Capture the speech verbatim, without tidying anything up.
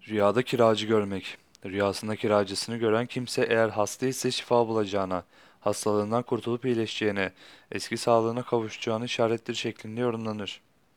Rüyada kiracı görmek. Rüyasında kiracısını gören kimse eğer hasta ise şifa bulacağına, hastalığından kurtulup iyileşeceğine, eski sağlığına kavuşacağını işarettir şeklinde yorumlanır.